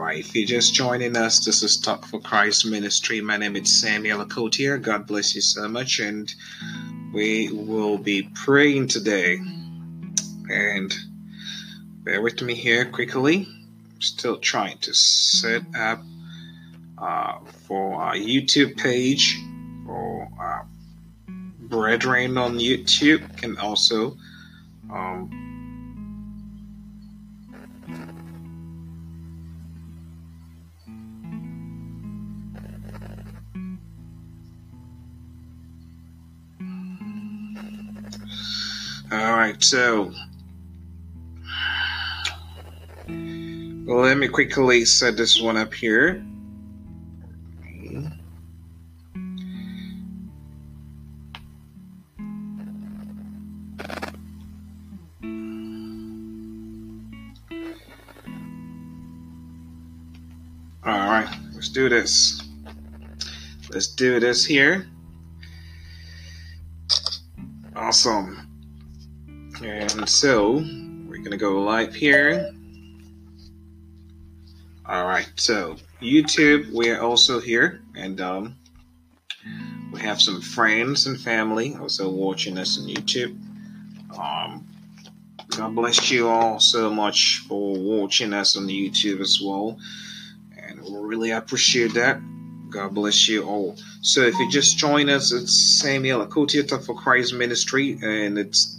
right, if you're just joining us, this is Talk for Christ Ministry. My name is Samuel Akotier. God bless you so much, and we will be praying today. And bear with me here quickly. I'm still trying to set up for our YouTube page for our brethren on YouTube. Can also all right, so let me quickly set this one up here. All right, let's do this. Let's do this here. Awesome. And so we're going to go live here. All right, so YouTube, we're also here, and we have some friends and family also watching us on YouTube. God bless you all so much for watching us on YouTube as well, and we really appreciate that. God bless you all. So if you just join us, it's Samuel Akotier, Talk for Christ Ministry, and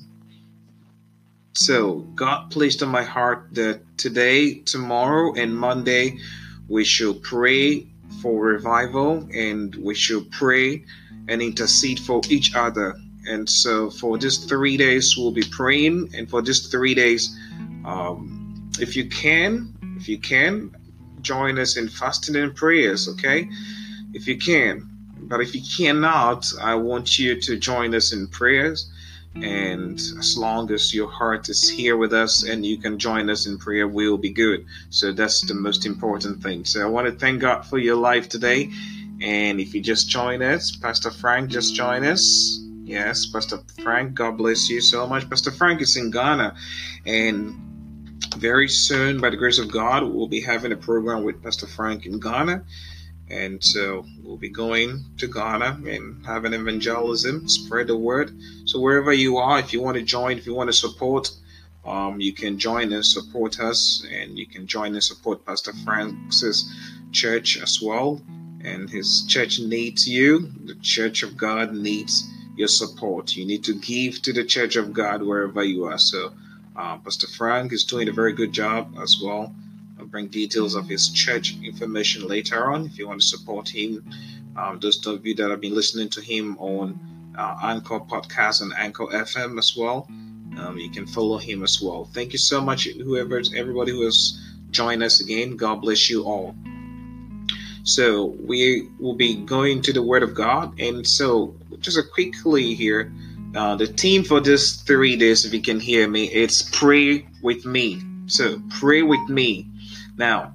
so God placed on my heart that today, tomorrow, and Monday we should pray for revival, and we should pray and intercede for each other. And so for these 3 days we'll be praying, and for these 3 days, if you can, join us in fasting and prayers, okay? If you can. But if you cannot, I want you to join us in prayers. And as long as your heart is here with us and you can join us in prayer, we'll be good. So that's the most important thing. So I want to thank God for your life today. And if you just join us, Pastor Frank just joined us. Yes, Pastor Frank, God bless you so much. Pastor Frank is in Ghana. And very soon, by the grace of God, we'll be having a program with Pastor Frank in Ghana. And so we'll be going to Ghana and having evangelism, spread the word. So wherever you are, if you want to join, if you want to support, you can join and support us, and you can join and support Pastor Frank's church as well. And his church needs you. The Church of God needs your support. You need to give to the Church of God wherever you are. So Pastor Frank is doing a very good job as well. I'll bring details of his church information later on if you want to support him. Those of you that have been listening to him on Anchor Podcast and Anchor FM as well, you can follow him as well. Thank you so much, everybody who has joined us again. God bless you all. So we will be going to the Word of God, and so just a quickly here, the theme for this 3 days, if you can hear me, it's pray with me. So pray with me. Now,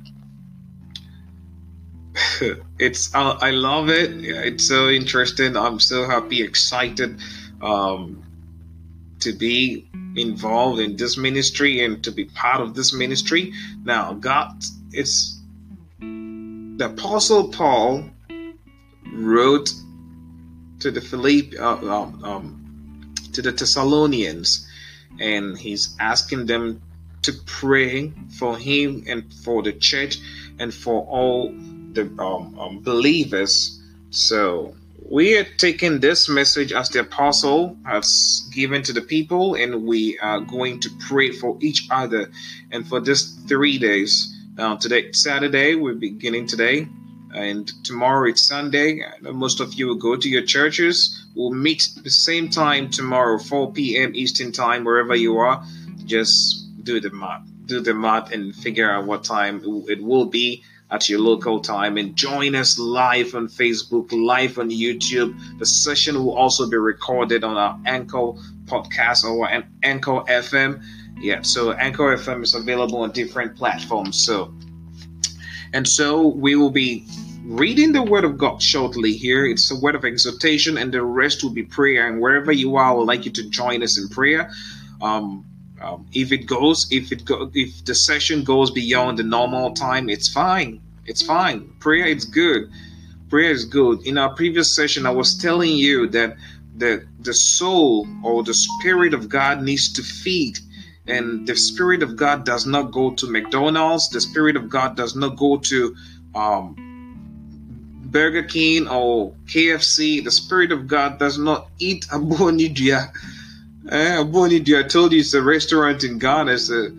I love it. It's so interesting. I'm so happy, excited to be involved in this ministry and to be part of this ministry. Now, it's the Apostle Paul wrote to the to the Thessalonians, and he's asking them to pray for him and for the church and for all the believers. So we are taking this message as the apostle has given to the people, and we are going to pray for each other. And for this 3 days, today Saturday, we're beginning today, and tomorrow it's Sunday. I know most of you will go to your churches. We'll meet the same time tomorrow, 4 p.m. Eastern time, wherever you are. Just do the math and figure out what time it will be at your local time, and join us live on Facebook, live on YouTube. The session will also be recorded on our Anchor Podcast or Anchor FM. Yeah, so Anchor FM is available on different platforms. So we will be reading the Word of God shortly here. It's a word of exhortation, and the rest will be prayer. And wherever you are, I would like you to join us in prayer. If the session goes beyond the normal time, it's fine. It's fine. Prayer is good. Prayer is good. In our previous session, I was telling you that the soul or the spirit of God needs to feed. And the spirit of God does not go to McDonald's. The spirit of God does not go to Burger King or KFC. The spirit of God does not eat Abonidia. Abonidia, I told you it's a restaurant in Ghana. It's a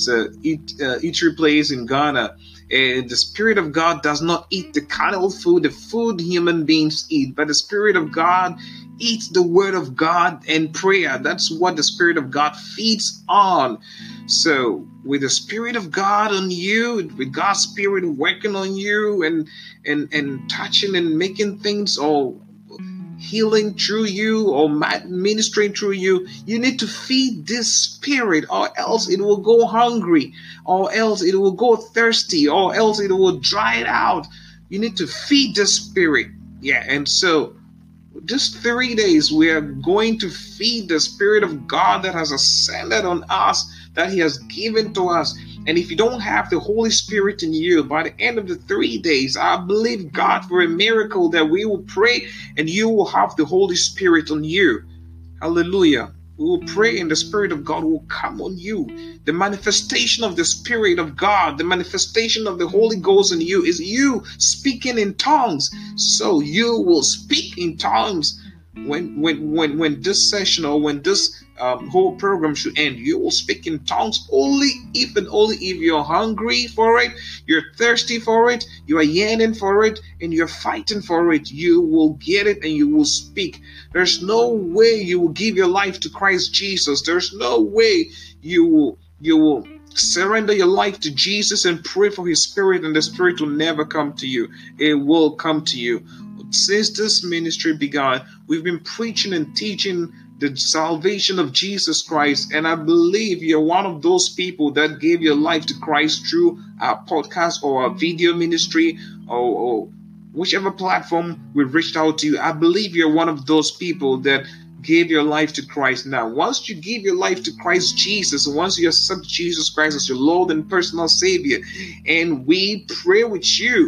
eatery place in Ghana. And the Spirit of God does not eat the carnal food, the food human beings eat, but the Spirit of God eats the Word of God and prayer. That's what the Spirit of God feeds on. So, with the Spirit of God on you, with God's Spirit working on you and touching and making things all healing through you or ministering through you, you need to feed this spirit, or else it will go hungry, or else it will go thirsty, or else it will dry it out. You need to feed the spirit. Yeah, and so just 3 days we are going to feed the Spirit of God that has ascended on us, that He has given to us. And if you don't have the Holy Spirit in you, by the end of the 3 days, I believe God for a miracle that we will pray and you will have the Holy Spirit on you. Hallelujah. We will pray and the Spirit of God will come on you. The manifestation of the Spirit of God, the manifestation of the Holy Ghost in you is you speaking in tongues. So you will speak in tongues when this session or when this whole program should end. You will speak in tongues only if you're hungry for it, you're thirsty for it, you are yearning for it, and you're fighting for it. You will get it and you will speak. There's no way you will give your life to Christ Jesus. There's no way you will surrender your life to Jesus and pray for His Spirit, and the Spirit will never come to you. It will come to you. Since this ministry began, we've been preaching and teaching the salvation of Jesus Christ, and I believe you're one of those people that gave your life to Christ through our podcast or our video ministry or whichever platform we reached out to you. I believe you're one of those people that gave your life to Christ. Now, once you give your life to Christ Jesus, once you accept Jesus Christ as your Lord and personal Savior, and we pray with you,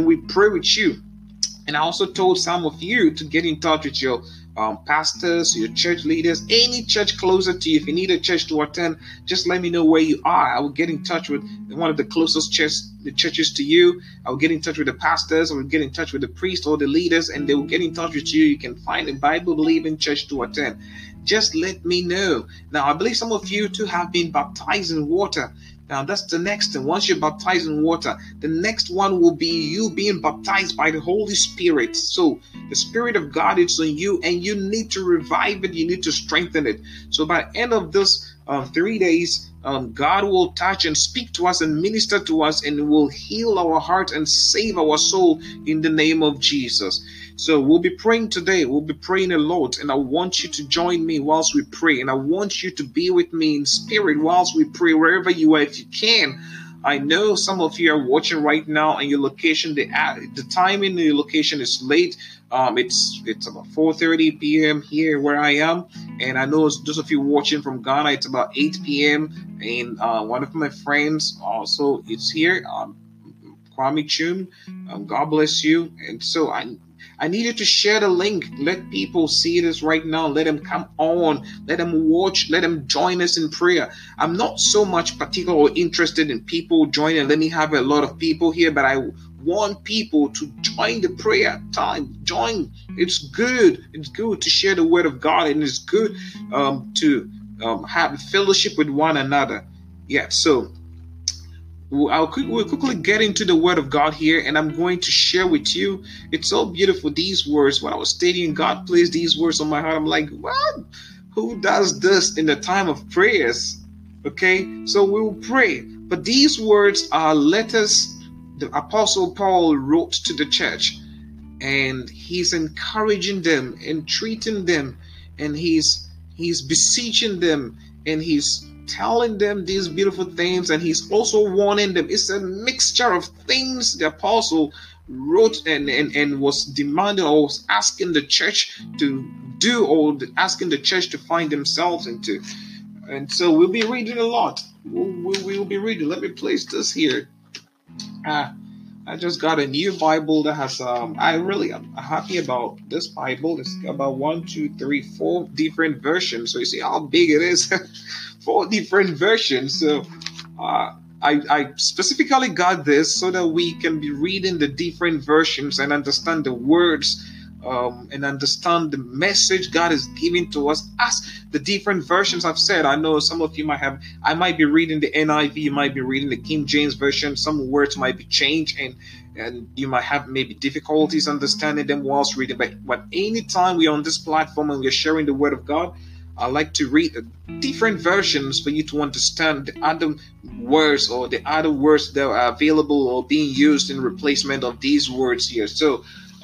and I also told some of you to get in touch with your pastors, your church leaders, any church closer to you. If you need a church to attend, just let me know where you are. I will get in touch with one of the closest churches to you. I will get in touch with the pastors. I will get in touch with the priests or the leaders, and they will get in touch with you. You can find a Bible-believing church to attend. Just let me know. Now, I believe some of you too have been baptized in water. Now, that's the next thing. Once you're baptized in water, the next one will be you being baptized by the Holy Spirit. So the Spirit of God is on you, and you need to revive it. You need to strengthen it. So by the end of this 3 days, God will touch and speak to us and minister to us, and will heal our heart and save our soul in the name of Jesus. So we'll be praying today. We'll be praying a lot, and I want you to join me whilst we pray, and I want you to be with me in spirit whilst we pray wherever you are, if you can. I know some of you are watching right now, and your location, the time in your location is late. It's about 4:30 p.m. here where I am, and I know those of you watching from Ghana, it's about 8 p.m. And one of my friends also is here, Kwame Chum. God bless you. And so I need you to share the link. Let people see this right now. Let them come on. Let them watch. Let them join us in prayer. I'm not so much particular or interested in people joining. Let me have a lot of people here, but I want people to join the prayer time. Join. It's good. It's good to share the word of God, and it's good to have fellowship with one another. Yeah, so we'll quickly get into the word of God here, and I'm going to share with you. It's so beautiful, these words. When I was studying, God placed these words on my heart. I'm like, what? Who does this in the time of prayers? Okay, so we will pray. But these words are letters the Apostle Paul wrote to the church, and he's encouraging them, entreating them, and he's beseeching them, and he's telling them these beautiful things, and he's also warning them. It's a mixture of things the apostle wrote and was demanding, or was asking the church to do, or asking the church to find themselves into. And so we'll be reading a lot. We'll be reading. Let me place this here. I just got a new Bible that has I really am happy about this Bible. It's about 4 different versions. So you see how big it is. 4 different versions. So I specifically got this so that we can be reading the different versions and understand the words and understand the message God is giving to us as the different versions I've said. I know some of you I might be reading the NIV, you might be reading the King James Version. Some words might be changed and you might have maybe difficulties understanding them whilst reading. But anytime we're on this platform and we're sharing the Word of God, I like to read different versions for you to understand the other words or the other words that are available or being used in replacement of these words here. So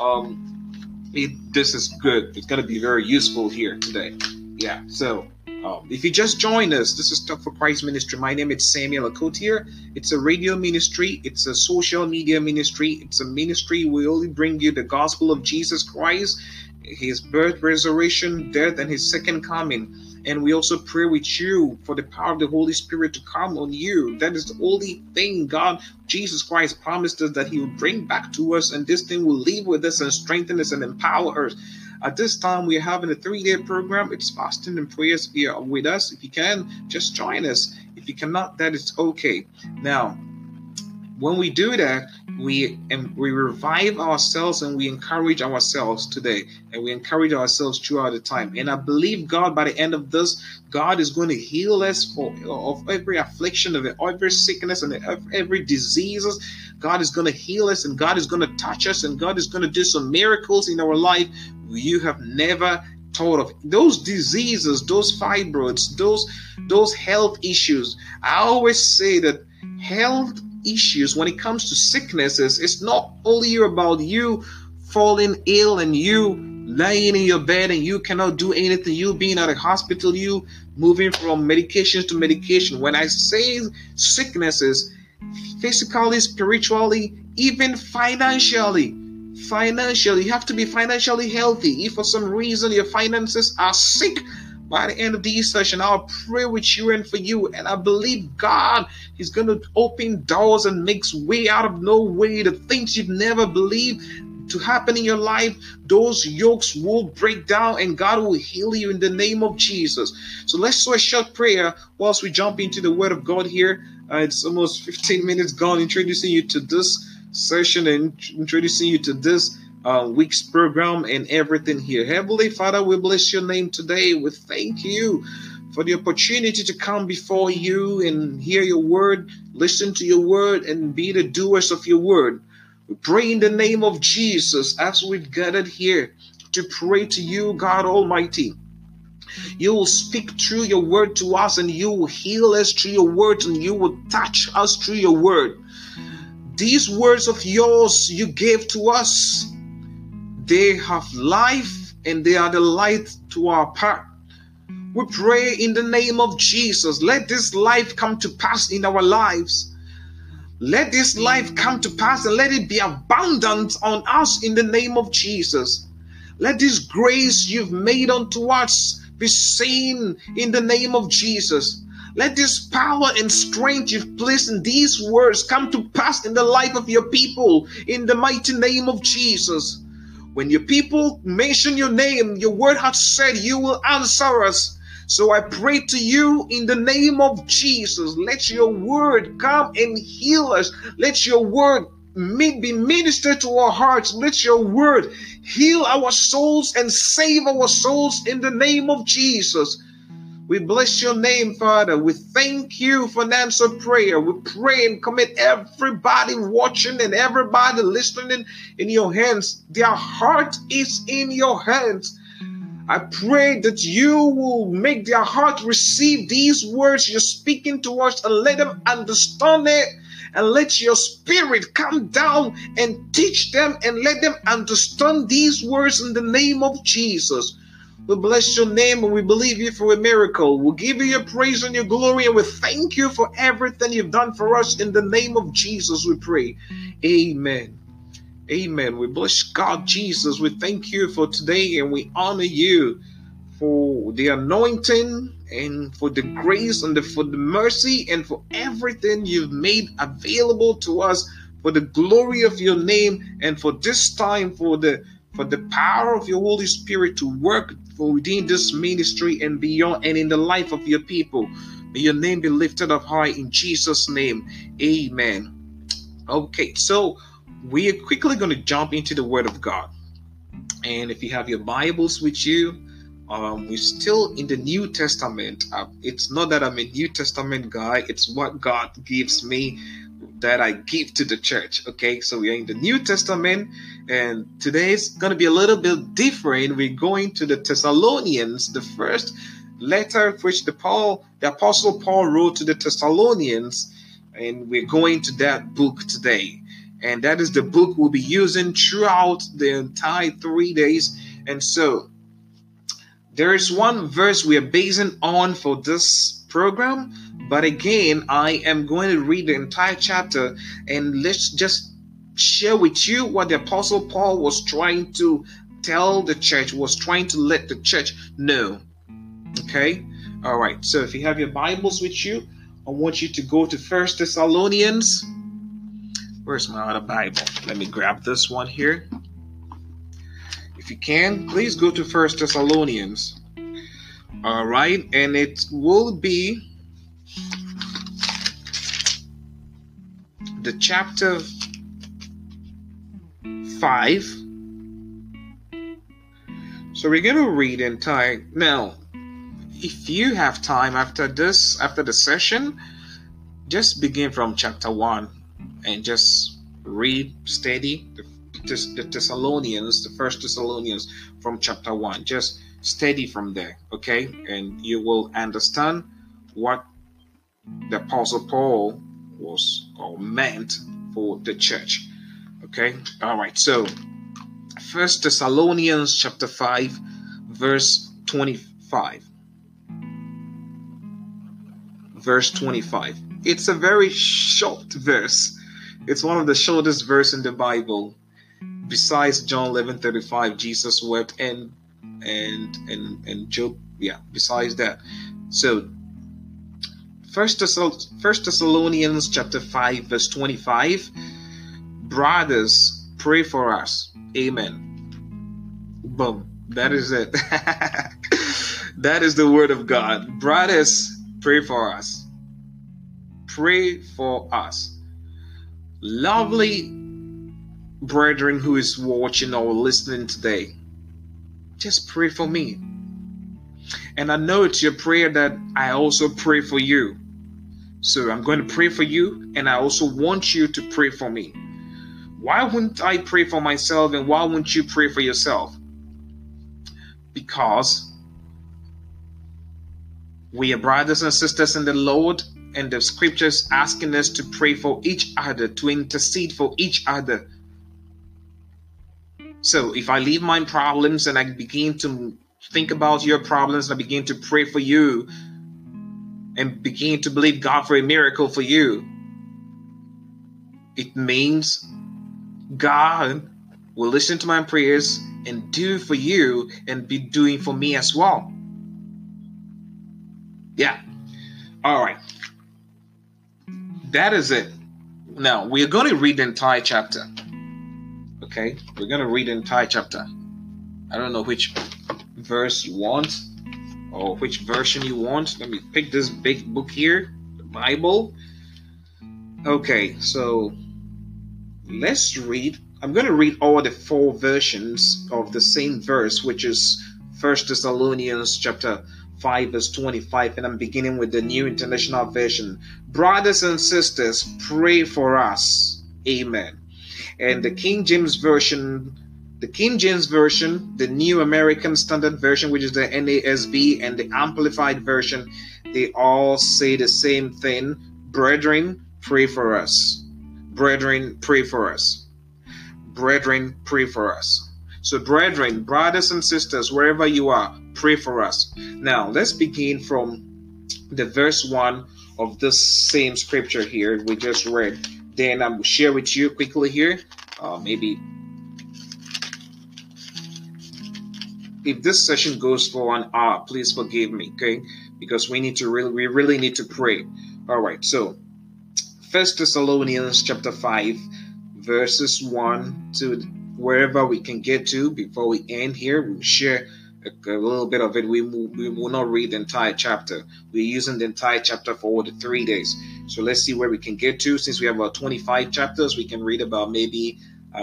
this is good. It's going to be very useful here today. Yeah. So if you just joined us, this is Talk for Christ Ministry. My name is Samuel Akotier. It's a radio ministry. It's a social media ministry. It's a ministry. We only bring you the gospel of Jesus Christ, his birth, resurrection, death, and his second coming. And we also pray with you for the power of the Holy Spirit to come on you. That is the only thing God, Jesus Christ, promised us that he will bring back to us. And this thing will live with us and strengthen us and empower us. At this time, we're having a 3-day program. It's fasting and prayers here with us. If you can, just join us. If you cannot, that is okay. Now, when we do that, we revive ourselves and we encourage ourselves today, and we encourage ourselves throughout the time. And I believe God, by the end of this, God is going to heal us of every affliction, of every sickness, and every disease. God is going to heal us, and God is going to touch us, and God is going to do some miracles in our life you have never thought of. Those diseases, those fibroids, those health issues. I always say that health issues, when it comes to sicknesses, it's not only about you falling ill and you laying in your bed and you cannot do anything, you being at a hospital, you moving from medications to medication. When I say sicknesses, physically, spiritually, even financially, you have to be financially healthy. If for some reason your finances are sick, by the end of this session, I'll pray with you and for you. And I believe God is going to open doors and makes way out of no way. The things you've never believed to happen in your life, those yokes will break down and God will heal you in the name of Jesus. So let's do a short prayer whilst we jump into the Word of God here. It's almost 15 minutes gone introducing you to this session and introducing you to this week's program and everything here. Heavenly Father, we bless your name today. We thank you for the opportunity to come before you and hear your word, listen to your word, and be the doers of your word. We pray in the name of Jesus as we've gathered here to pray to you, God Almighty. You will speak through your word to us, and you will heal us through your words, and you will touch us through your word. These words of yours you gave to us, they have life and they are the light to our path. We pray in the name of Jesus, let this life come to pass in our lives. Let this life come to pass and let it be abundant on us in the name of Jesus. Let this grace you've made unto us be seen in the name of Jesus. Let this power and strength you've placed in these words come to pass in the life of your people in the mighty name of Jesus. When your people mention your name, your word has said you will answer us. So I pray to you in the name of Jesus. Let your word come and heal us. Let your word be ministered to our hearts. Let your word heal our souls and save our souls in the name of Jesus. We bless your name, Father. We thank you for an answered prayer. We pray and commit everybody watching and everybody listening in your hands. Their heart is in your hands. I pray that you will make their heart receive these words you're speaking to us and let them understand it. And let your spirit come down and teach them and let them understand these words in the name of Jesus. We bless your name and we believe you for a miracle. We'll give you your praise and your glory, and we thank you for everything you've done for us. In the name of Jesus we pray. Amen. Amen. We bless God, Jesus. We thank you for today and we honor you for the anointing and for the grace and for the mercy and for everything you've made available to us for the glory of your name, and for this time for the power of your Holy Spirit to work for within this ministry and beyond and in the life of your people. May your name be lifted up high in Jesus' name. Amen. Okay, so we are quickly going to jump into the Word of God. And if you have your Bibles with you, we're still in the New Testament. It's not that I'm a New Testament guy. It's what God gives me that I give to the church. Okay, so we are in the New Testament, and today is going to be a little bit different. We're going to the Thessalonians, the first letter which the Apostle Paul wrote to the Thessalonians, and we're going to that book today. And that is the book we'll be using throughout the entire 3 days. And so there is one verse we are basing on for this program. But again, I am going to read the entire chapter, and let's just share with you what the Apostle Paul was trying to tell the church, was trying to let the church know. Okay? All right. So if you have your Bibles with you, I want you to go to 1 Thessalonians. Where's my other Bible? Let me grab this one here. If you can, please go to 1 Thessalonians. All right. And it will be the chapter 5. So we're going to read entire. Now, if you have time after the session, just begin from chapter 1 and just read steady the Thessalonians, the 1 Thessalonians from chapter 1. Just steady from there, okay? And you will understand what the Apostle Paul was or meant for the church. Okay, all right. So 1 Thessalonians chapter 5 verse 25. Verse 25. It's a very short verse. It's one of the shortest verse in the Bible. Besides John 11:35, Jesus wept, and Job. Yeah, besides that. So First Thessalonians chapter 5 verse 25. Brothers, pray for us. Amen. Boom. That is it. That is the word of God. Brothers, pray for us. Pray for us. Lovely brethren who is watching or listening today, just pray for me. And I know it's your prayer that I also pray for you. So I'm going to pray for you, and I also want you to pray for me. Why wouldn't I pray for myself, and why wouldn't you pray for yourself? Because we are brothers and sisters in the Lord, and the scriptures asking us to pray for each other, to intercede for each other. So if I leave my problems and I begin to think about your problems, and I begin to pray for you and begin to believe God for a miracle for you, it means God will listen to my prayers and do for you and be doing for me as well. Yeah. All right. That is it. Now, we're going to read the entire chapter. Okay? We're going to read the entire chapter. I don't know which verse you want or which version you want. Let me pick this big book here, the Bible. Okay, so let's read. I'm going to read all the 4 versions of the same verse, which is 1 Thessalonians chapter 5 verse 25, and I'm beginning with the New International Version. Brothers and sisters, pray for us. Amen. And the King James Version, the New American Standard Version, which is the NASB, and the Amplified Version, they all say the same thing. Brethren, pray for us. Brethren, pray for us. Brethren, pray for us. So brethren, brothers and sisters, wherever you are, pray for us. Now, let's begin from the verse 1 of this same scripture here we just read. Then I will share with you quickly here. Maybe if this session goes for an hour, please forgive me, okay? Because we really need to pray. All right, so First Thessalonians chapter 5, verses 1 to wherever we can get to before we end here. We'll share a little bit of it. We will not read the entire chapter. We're using the entire chapter for all the 3 days. So let's see where we can get to. Since we have about 25 chapters, we can read about maybe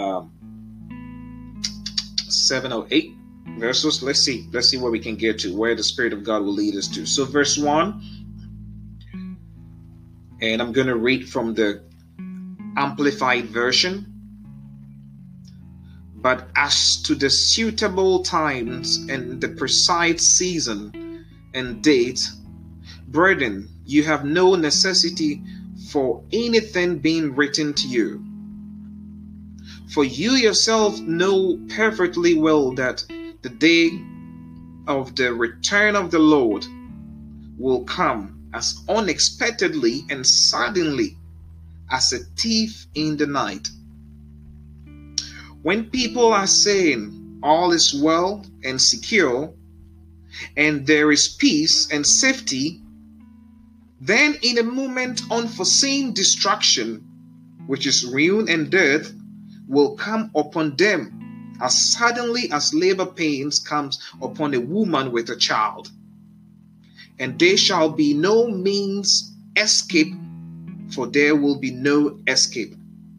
7 or 8 verses. Let's see where we can get to, where the Spirit of God will lead us to. So verse 1, and I'm going to read from the Amplified Version. But as to the suitable times and the precise season and date, brethren, you have no necessity for anything being written to you. For you yourself know perfectly well that the day of the return of the Lord will come as unexpectedly and suddenly as a thief in the night. When people are saying all is well and secure, and there is peace and safety, then in a moment unforeseen destruction, which is ruin and death, will come upon them as suddenly as labor pains comes upon a woman with a child. And there shall be no means escape, for there will be no escape.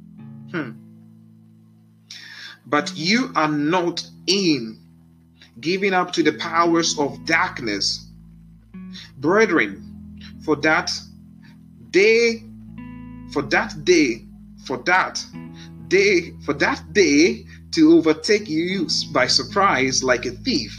But you are not in giving up to the powers of darkness, brethren, for that day to overtake you by surprise like a thief.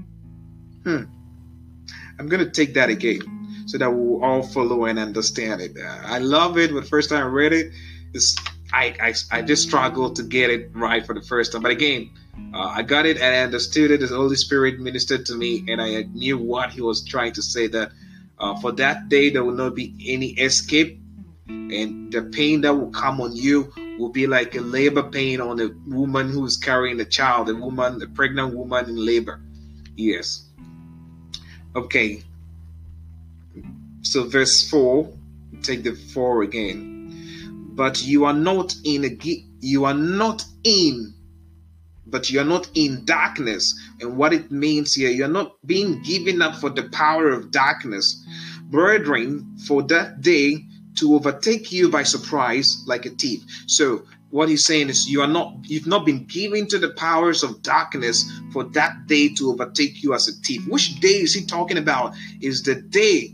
I'm going to take that again so that we'll all follow and understand it. I love it. But the first time I read it, I just struggled to get it right for the first time. But again, I got it and I understood it. The Holy Spirit ministered to me and I knew what he was trying to say, that for that day there will not be any escape, and the pain that will come on you will be like a labor pain on a woman who is carrying a child, a pregnant woman in labor. Yes. Okay. So verse 4, take the 4 again. But you are not in darkness. And what it means here, you're not being given up for the power of darkness, brethren, for that day to overtake you by surprise like a thief. So what he's saying is you've not been given to the powers of darkness for that day to overtake you as a thief. Which day is he talking about? Is the day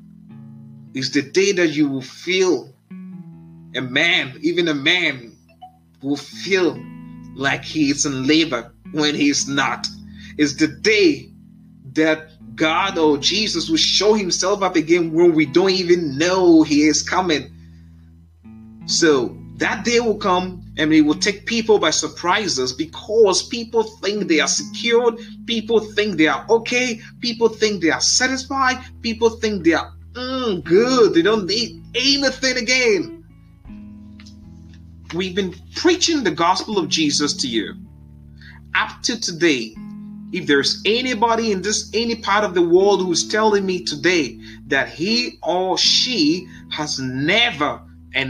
that you will feel a man will feel like he is in labor when he is not. It's the day that God or Jesus will show himself up again when we don't even know he is coming. So that day will come and it will take people by surprises, because people think they are secured, people think they are okay, people think they are satisfied, people think they are good, they don't need anything again. We've been preaching the gospel of Jesus to you up to today. If there's anybody in any part of the world who's telling me today that he or she has never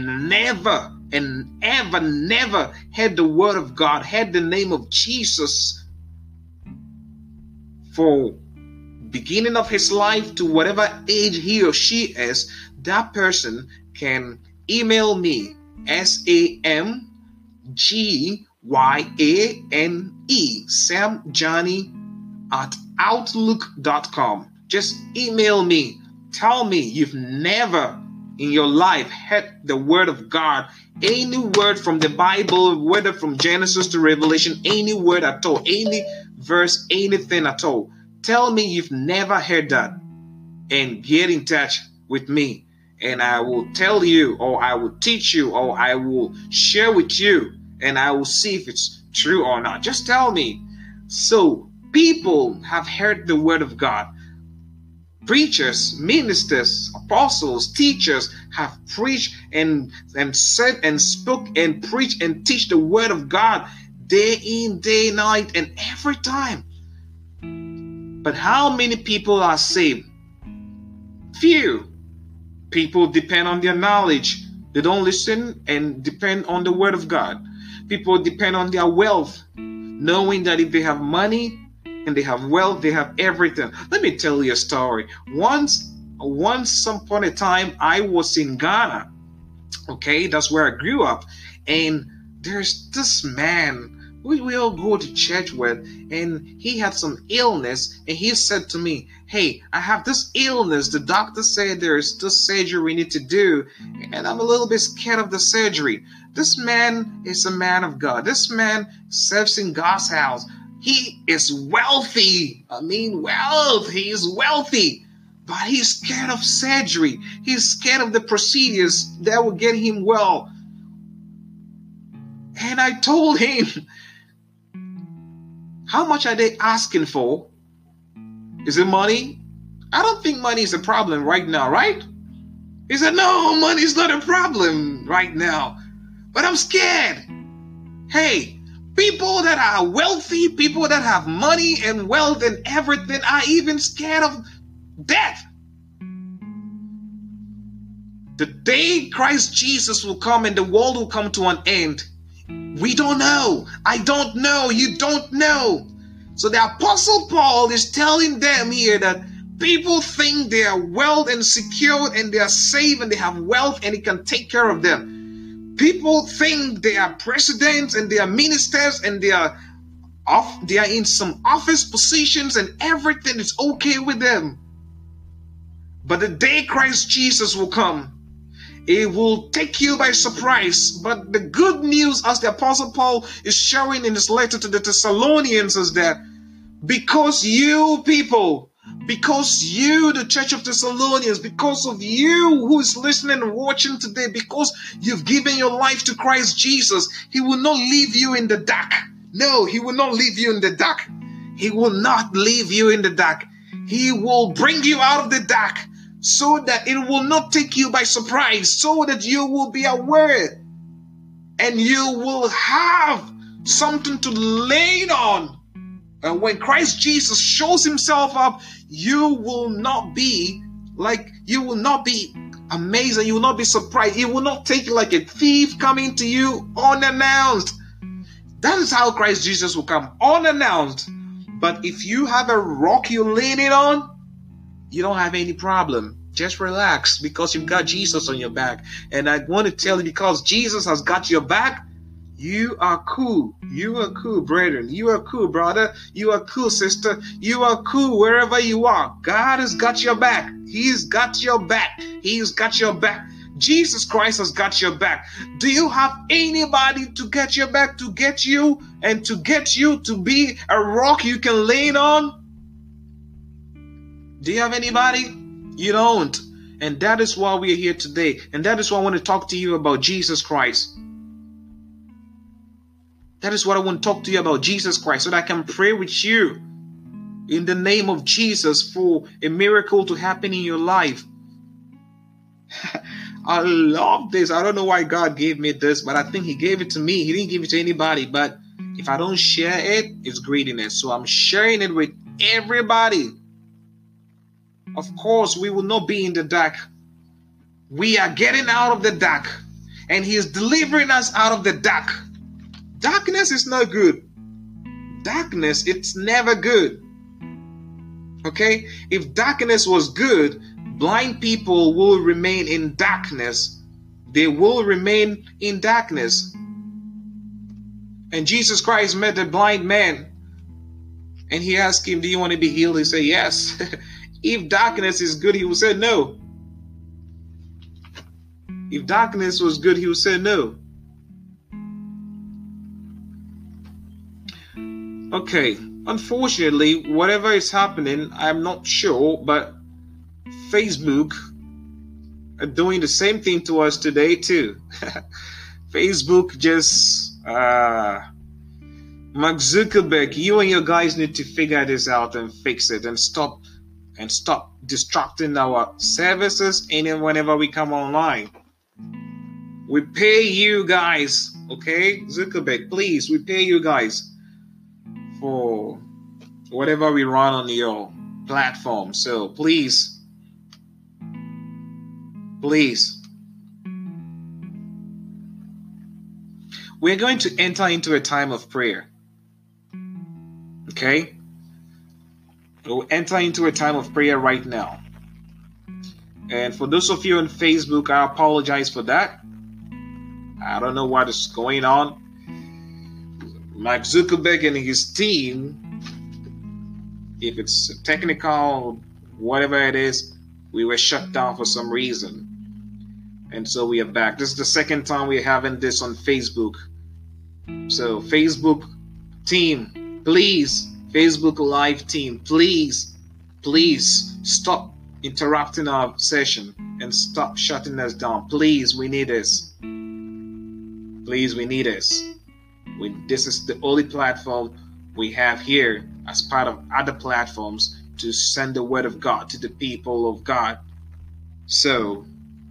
heard the word of God, heard the name of Jesus for beginning of his life to whatever age he or she is, that person can email me SAMGYANE, SamJohnny at outlook.com. Just email me. Tell me you've never in your life heard the word of God, any word from the Bible, whether from Genesis to Revelation, any word at all, any verse, anything at all. Tell me you've never heard that and get in touch with me. And I will tell you, or I will teach you, or I will share with you, and I will see if it's true or not. Just tell me. So people have heard the word of God. Preachers, ministers, apostles, teachers have preached and said and spoke and preached and teach the word of God day in, day night, and every time But how many people are saved? Few. People depend on their knowledge. They don't listen and depend on the word of God. People depend on their wealth, knowing that if they have money and they have wealth, they have everything. Let me tell you a story. Once some point in time, I was in Ghana. Okay, that's where I grew up. And there's this man we all go to church with, and he had some illness, and he said to me, hey, I have this illness. The doctor said there's this surgery we need to do, and I'm a little bit scared of the surgery. This man is a man of God. This man serves in God's house. He is wealthy. I mean, wealth. He is wealthy. But he's scared of surgery. He's scared of the procedures that will get him well. And I told him, how much are they asking for? Is it money? I don't think money is a problem right now, right? He said, no, money is not a problem right now. But I'm scared. Hey, people that are wealthy, people that have money and wealth and everything are even scared of death. The day Christ Jesus will come and the world will come to an end, we don't know. I don't know. You don't know. So the Apostle Paul is telling them here that people think they are well and secure and they are safe and they have wealth and he can take care of them. People think they are presidents and they are ministers and they are in some office positions and everything is okay with them. But the day Christ Jesus will come, it will take you by surprise. But the good news, as the Apostle Paul is showing in his letter to the Thessalonians, is that because you people, because you, the Church of Thessalonians, because of you who is listening and watching today, because you've given your life to Christ Jesus, he will not leave you in the dark. No, he will not leave you in the dark. He will not leave you in the dark. He will bring you out of the dark, so that it will not take you by surprise, so that you will be aware and you will have something to lean on. And when Christ Jesus shows himself up, you will not be amazed and you will not be surprised. He will not take you like a thief coming to you unannounced. That is how Christ Jesus will come, unannounced. But if you have a rock you're leaning on, you don't have any problem. Just relax, because you've got Jesus on your back. And I want to tell you, because Jesus has got your back, you are cool. You are cool, brethren. You are cool, brother. You are cool, sister. You are cool wherever you are. God has got your back. He's got your back. He's got your back. Jesus Christ has got your back. Do you have anybody to get your back, to get you, and to get you to be a rock you can lean on? Do you have anybody? You don't. And that is why we are here today. And that is why I want to talk to you about Jesus Christ. That is what I want to talk to you about, Jesus Christ, so that I can pray with you in the name of Jesus for a miracle to happen in your life. I love this. I don't know why God gave me this, but I think he gave it to me. He didn't give it to anybody. But if I don't share it, it's greediness. So I'm sharing it with everybody. Of course, we will not be in the dark. We are getting out of the dark, and he is delivering us out of the dark. Darkness is not good. Darkness, it's never good. Okay? If darkness was good, blind people will remain in darkness. They will remain in darkness. And Jesus Christ met a blind man, and he asked him, do you want to be healed? He said, yes. If darkness is good, he would say no. If darkness was good, he would say no. Okay, unfortunately, whatever is happening, I'm not sure, but Facebook are doing the same thing to us today too. Facebook just, Mark Zuckerberg, you and your guys need to figure this out and fix it and stop distracting our services and whenever we come online. We pay you guys, okay? Zuckerberg, please, we pay you guys for whatever we run on your platform. So please, we're going to enter into a time of prayer. Okay? We'll enter into a time of prayer right now. And for those of you on Facebook, I apologize for that. I don't know what is going on. Mark Zuckerberg and his team, if it's technical, whatever it is, we were shut down for some reason. And so we are back. This is the second time we're having this on Facebook. So Facebook team, please, Facebook Live team, please stop interrupting our session and stop shutting us down. Please, we need this. Please, we need this. This is the only platform we have here as part of other platforms to send the word of God to the people of God. So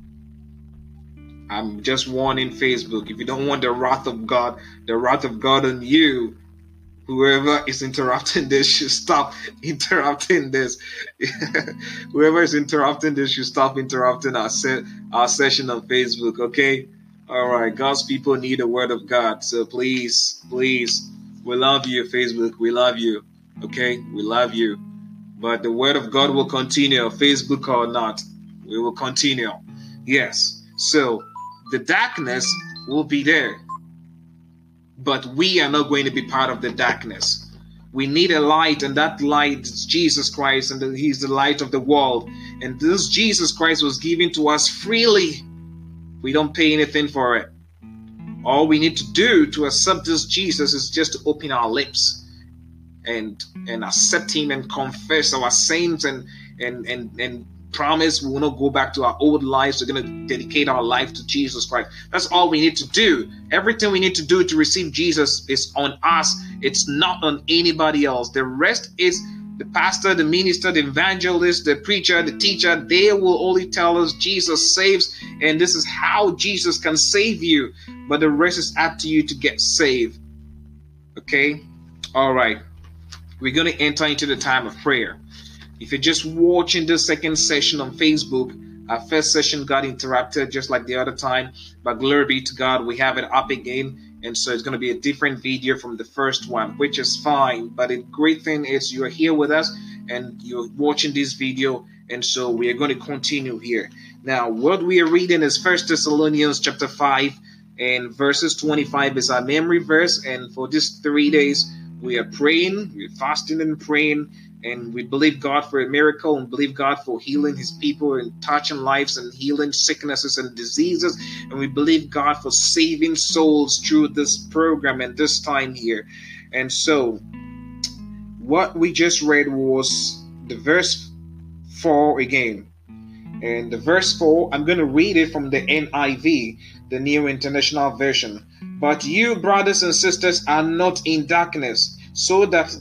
I'm just warning Facebook, if you don't want the wrath of God on you, whoever is interrupting this should stop interrupting this. Whoever is interrupting this should stop interrupting our session on Facebook, okay? All right, God's people need the word of God. So please, we love you, Facebook. We love you, okay? We love you. But the word of God will continue, Facebook or not. We will continue. Yes. So the darkness will be there. But we are not going to be part of the darkness. We need a light, and that light is Jesus Christ, and He's the light of the world. And this Jesus Christ was given to us freely. We don't pay anything for it. All we need to do to accept this Jesus is just to open our lips and accept Him and confess our sins and promise we will not go back to our old lives. We're going to dedicate our life to Jesus Christ. That's all we need to do. Everything we need to do to receive Jesus is on us. It's not on anybody else. The rest is the pastor, the minister, the evangelist, the preacher, the teacher. They will only tell us Jesus saves, and this is how Jesus can save you. But the rest is up to you to get saved. Okay? All right. We're going to enter into the time of prayer. If you're just watching this second session on Facebook, our first session got interrupted just like the other time. But glory be to God, we have it up again. And so it's going to be a different video from the first one, which is fine. But the great thing is you're here with us and you're watching this video. And so we are going to continue here. Now, what we are reading is 1 Thessalonians chapter 5 and verses 25 is our memory verse. And for these 3 days, we are praying, we're fasting and praying. And we believe God for a miracle and believe God for healing His people and touching lives and healing sicknesses and diseases. And we believe God for saving souls through this program and this time here. And so what we just read was the verse 4 again. And the verse 4, I'm going to read it from the NIV, the New International Version. But you, brothers and sisters, are not in darkness, so that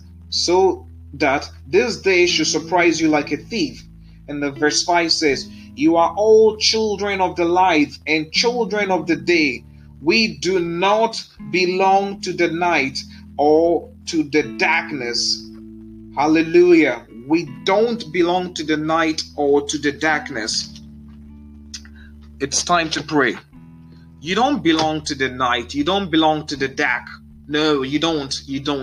this day should surprise you like a thief. And the verse 5 says, you are all children of the light and children of the day. We do not belong to the night or to the darkness. Hallelujah. We don't belong to the night or to the darkness. It's time to pray. You don't belong to the night. You don't belong to the dark. No, you don't.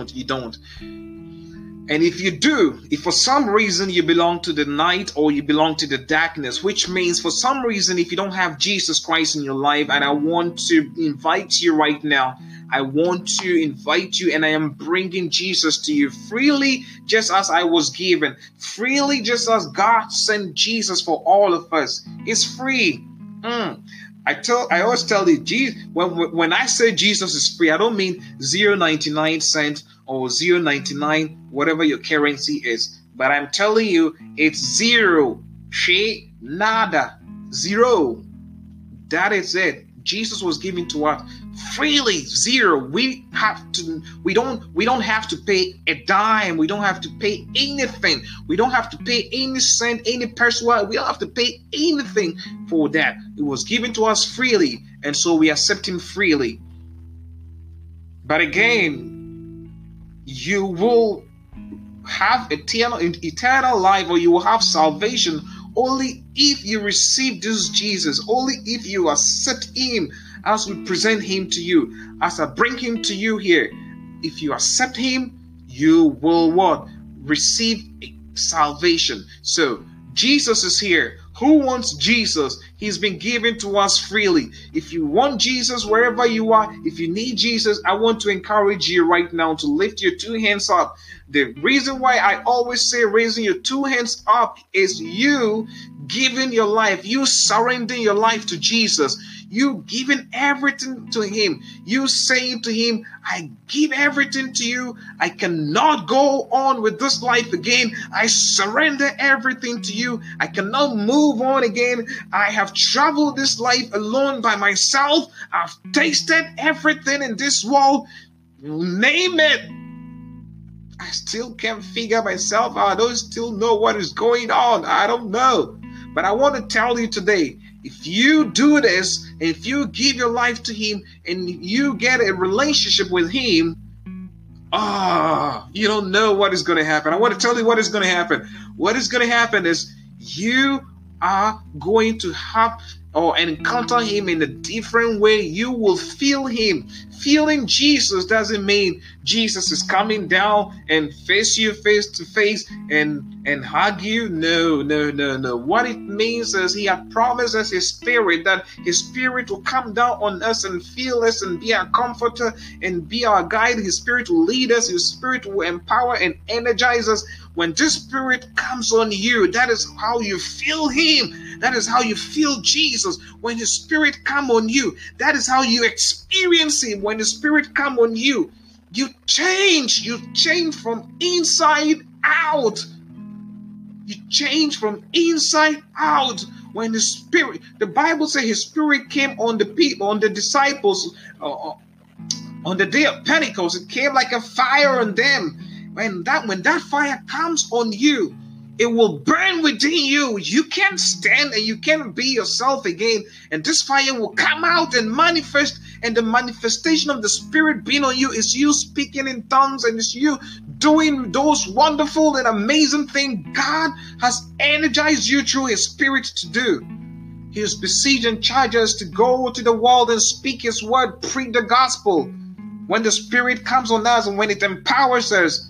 And if you do, if for some reason you belong to the night or you belong to the darkness, which means for some reason if you don't have Jesus Christ in your life, and I want to invite you right now, I want to invite you and I am bringing Jesus to you freely, just as I was given, freely, just as God sent Jesus for all of us. It's free. I always tell you, when I say Jesus is free, I don't mean 0.99 cents or 0.99, whatever your currency is. But I'm telling you, it's zero. She nada. Zero. That is it. Jesus was given to us freely. Zero. We don't have to pay a dime. We don't have to pay anything. We don't have to pay any cent, any person. We don't have to pay anything for that. It was given to us freely, and so we accept Him freely. But again, you will have eternal life, or you will have salvation only if you receive this Jesus, only if you accept him as we present him to you, as I bring him to you here. If you accept him, you will what? Receive salvation. So Jesus is here. Who wants Jesus? He's been given to us freely. If you want Jesus wherever you are, if you need Jesus, I want to encourage you right now to lift your two hands up. The reason why I always say raising your two hands up is you giving your life, you surrendering your life to Jesus, you giving everything to him, you saying to him, I give everything to you. I cannot go on with this life again. I surrender everything to you. I cannot move on again. I have traveled this life alone by myself. I've tasted everything in this world. Name it. I still can't figure myself out. I don't still know what is going on. I don't know. But I want to tell you today, if you do this, and if you give your life to him, and you get a relationship with him, you don't know what is going to happen. I want to tell you what is going to happen. What is going to happen is you are going to have or encounter him in a different way. You will feel him. Feeling Jesus doesn't mean Jesus is coming down and face you face to face and hug you. No. What it means is he had promised us his spirit, that his spirit will come down on us and feel us and be our comforter and be our guide. His spirit will lead us. His spirit will empower and energize us. When this spirit comes on you, that is how you feel him. That is how you feel Jesus. When his spirit come on you, that is how you experience him. When the spirit come on you, you change. You change from inside out. You change from inside out. When the Bible says his spirit came on the people, on the disciples, on the day of Pentecost, it came like a fire on them. When that fire comes on you, it will burn within you. You can't stand and you can't be yourself again. And this fire will come out and manifest. And the manifestation of the Spirit being on you is you speaking in tongues, and it's you doing those wonderful and amazing things God has energized you through his Spirit to do. He has besieged and charged us to go to the world and speak his word, preach the gospel. When the Spirit comes on us and when it empowers us,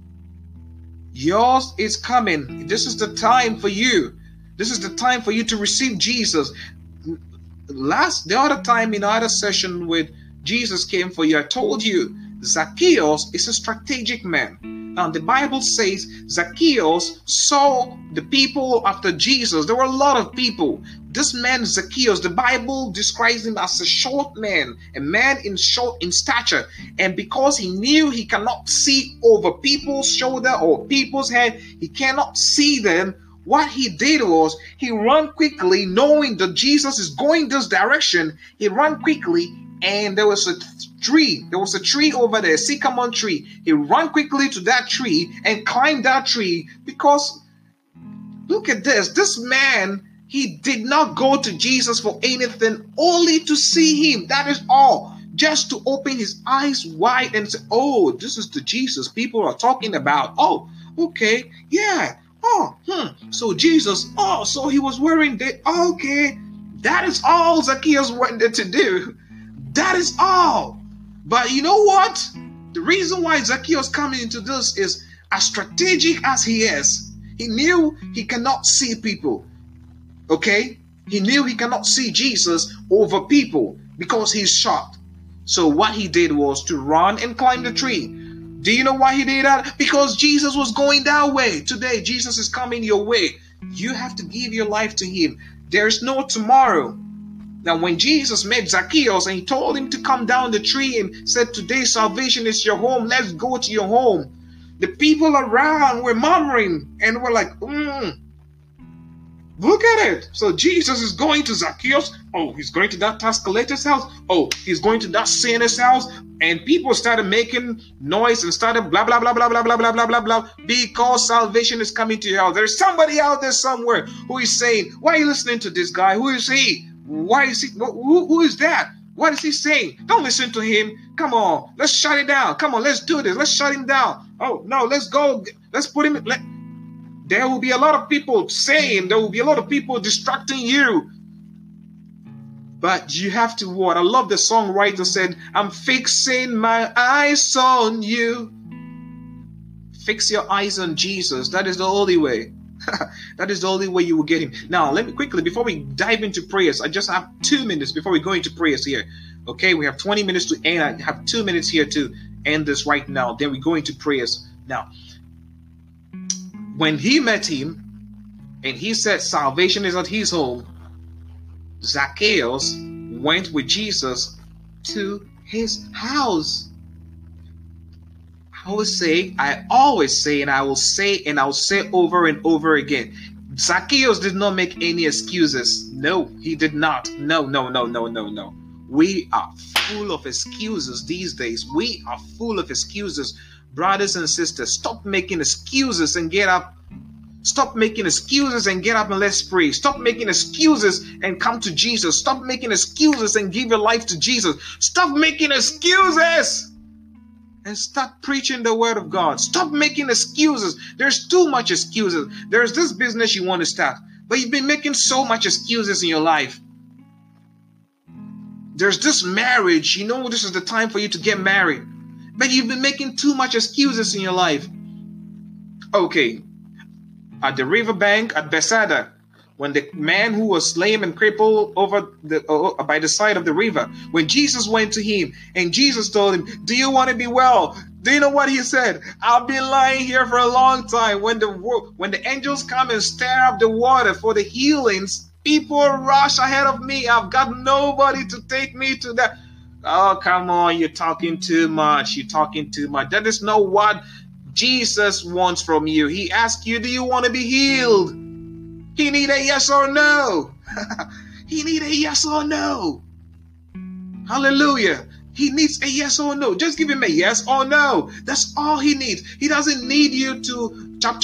yours is coming. This is the time for you. This is the time for you to receive Jesus. The other time in our session with Jesus came for you, I told you Zacchaeus is a strategic man. Now the Bible says Zacchaeus saw the people after Jesus. There were a lot of people. This man Zacchaeus, the Bible describes him as a short man, a man in stature. And because he knew he cannot see over people's shoulder or people's head, he cannot see them. What he did was he ran quickly, knowing that Jesus is going this direction. He ran quickly, and there was a tree. There was a tree over there, a sycamore tree. He ran quickly to that tree and climbed that tree because, look at this. This man, he did not go to Jesus for anything, only to see him. That is all. Just to open his eyes wide and say, oh, this is the Jesus people are talking about. Oh, okay, yeah. So Jesus, so he was wearing that. Okay, that is all Zacchaeus wanted to do. That is all. But you know what? The reason why Zacchaeus coming into this is, as strategic as he is, he knew he cannot see people. Okay? He knew he cannot see Jesus over people because he's short. So what he did was to run and climb the tree. Do you know why he did that? Because Jesus was going that way. Today, Jesus is coming your way. You have to give your life to him. There's no tomorrow. Now, when Jesus met Zacchaeus and he told him to come down the tree and said, today salvation is your home. Let's go to your home. The people around were murmuring and were like, look at it. So Jesus is going to Zacchaeus. Oh, he's going to that tax collector's house. Oh, he's going to that sinner's house. And people started making noise and started blah, blah, blah, blah, blah, blah, blah, blah, blah, blah, because salvation is coming to your house. There's somebody out there somewhere who is saying, why are you listening to this guy? Who is he? Why is he? Who is that? What is he saying? Don't listen to him. Come on, let's shut it down. Come on, let's do this. Let's shut him down. Oh no, let's go. Let's put him. There will be a lot of people saying, there will be a lot of people distracting you. But you have to what? I love the songwriter said, I'm fixing my eyes on you. Fix your eyes on Jesus. That is the only way. That is the only way you will get him. Now, let me quickly, before we dive into prayers, I just have 2 minutes before we go into prayers here. Okay, we have 20 minutes to end. I have 2 minutes here to end this right now. Then we go into prayers. Now, when he met him and he said salvation is at his home, Zacchaeus went with Jesus to his house. I always say, and I will say, and I'll say over and over again, Zacchaeus did not make any excuses. No, he did not. No. We are full of excuses these days. We are full of excuses. Brothers and sisters, stop making excuses and get up. Stop making excuses and get up and let's pray. Stop making excuses and come to Jesus. Stop making excuses and give your life to Jesus. Stop making excuses and start preaching the word of God. Stop making excuses. There's too much excuses. There's this business you want to start, but you've been making so much excuses in your life. There's this marriage. You know this is the time for you to get married, but you've been making too much excuses in your life. Okay. At the riverbank at Bethsaida, when the man who was lame and crippled by the side of the river, when Jesus went to him and Jesus told him, do you want to be well? Do you know what he said? I've been lying here for a long time. When the angels come and stir up the water for the healings, people rush ahead of me. I've got nobody to take me to that. Oh, come on, you're talking too much. You're talking too much. That is not what Jesus wants from you. He asks you, do you want to be healed? He need a yes or no. He need a yes or no. Hallelujah. He needs a yes or no. Just give him a yes or no. That's all he needs. He doesn't need you to chop.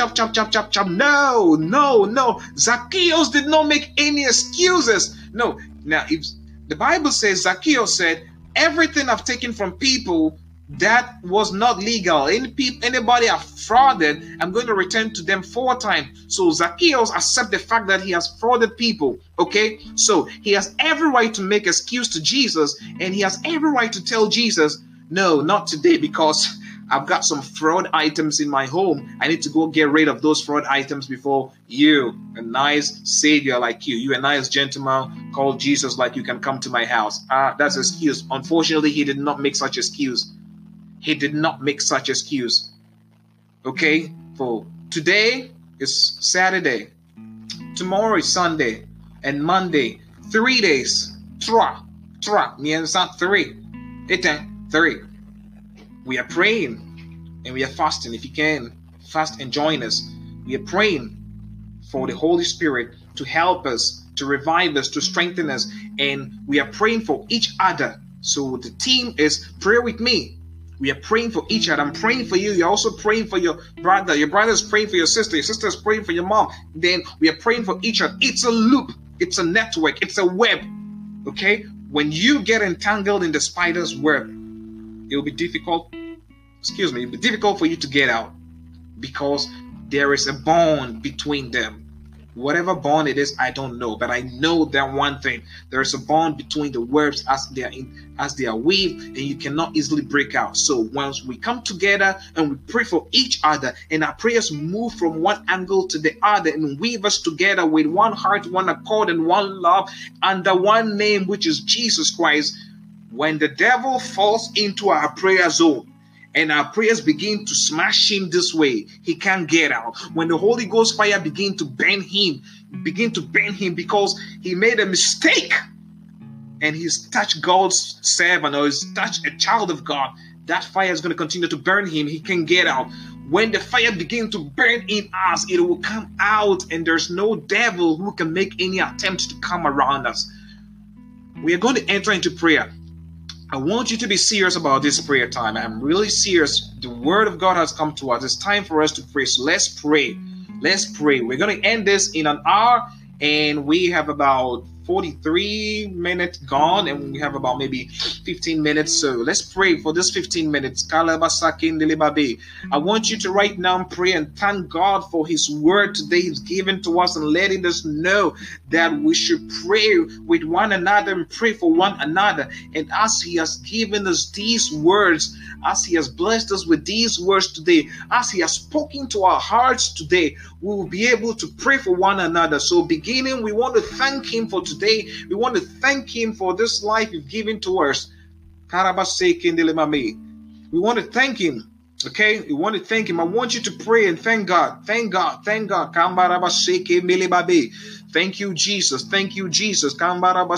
No. Zacchaeus did not make any excuses. No. Now, if the Bible says, Zacchaeus said, everything I've taken from people that was not legal, anybody I've frauded, I'm going to return to them 4 times. So Zacchaeus accepts the fact that he has frauded people. Okay, so he has every right to make excuse to Jesus, and he has every right to tell Jesus, no, not today, because I've got some fraud items in my home. I need to go get rid of those fraud items before you, a nice savior like you, a nice gentleman called Jesus like you, can come to my house. That's an excuse. Unfortunately, he did not make such excuse. He did not make such excuse. Okay? For today is Saturday. Tomorrow is Sunday. And Monday. 3 days. 3. 3. We are praying. And we are fasting. If you can, fast and join us. We are praying for the Holy Spirit to help us, to revive us, to strengthen us. And we are praying for each other. So the team is pray with me. We are praying for each other. I'm praying for you. You're also praying for your brother. Your brother is praying for your sister. Your sister is praying for your mom. Then we are praying for each other. It's a loop. It's a network. It's a web. Okay? When you get entangled in the spider's web, it will be difficult. It'll be difficult for you to get out, because there is a bond between them. Whatever bond it is, I don't know, but I know that one thing: there is a bond between the webs as they are weaved, and you cannot easily break out. So once we come together and we pray for each other, and our prayers move from one angle to the other and weave us together with one heart, one accord, and one love under one name, which is Jesus Christ. When the devil falls into our prayer zone, and our prayers begin to smash him this way, he can't get out. When the Holy Ghost fire begin to burn him because he made a mistake and he's touched God's servant or he's touched a child of God, that fire is going to continue to burn him. He can get out. When the fire begins to burn in us, it will come out, and there's no devil who can make any attempt to come around us. We are going to enter into prayer. I want you to be serious about this prayer time. I'm really serious. The word of God has come to us. It's time for us to pray. So let's pray. Let's pray. We're going to end this in an hour, and we have about 43 minutes gone, and we have about maybe 15 minutes. So let's pray for this 15 minutes. I want you to right now pray and thank God for His word today He's given to us and letting us know that we should pray with one another and pray for one another. And as He has given us these words, as He has blessed us with these words today, as He has spoken to our hearts today, we will be able to pray for one another. So beginning, we want to thank Him for today. We want to thank Him for this life He's given to us. We want to thank Him. Okay, we want to thank Him. I want you to pray and thank God. Thank God. Thank God. Thank you, Jesus. Thank you, Jesus. We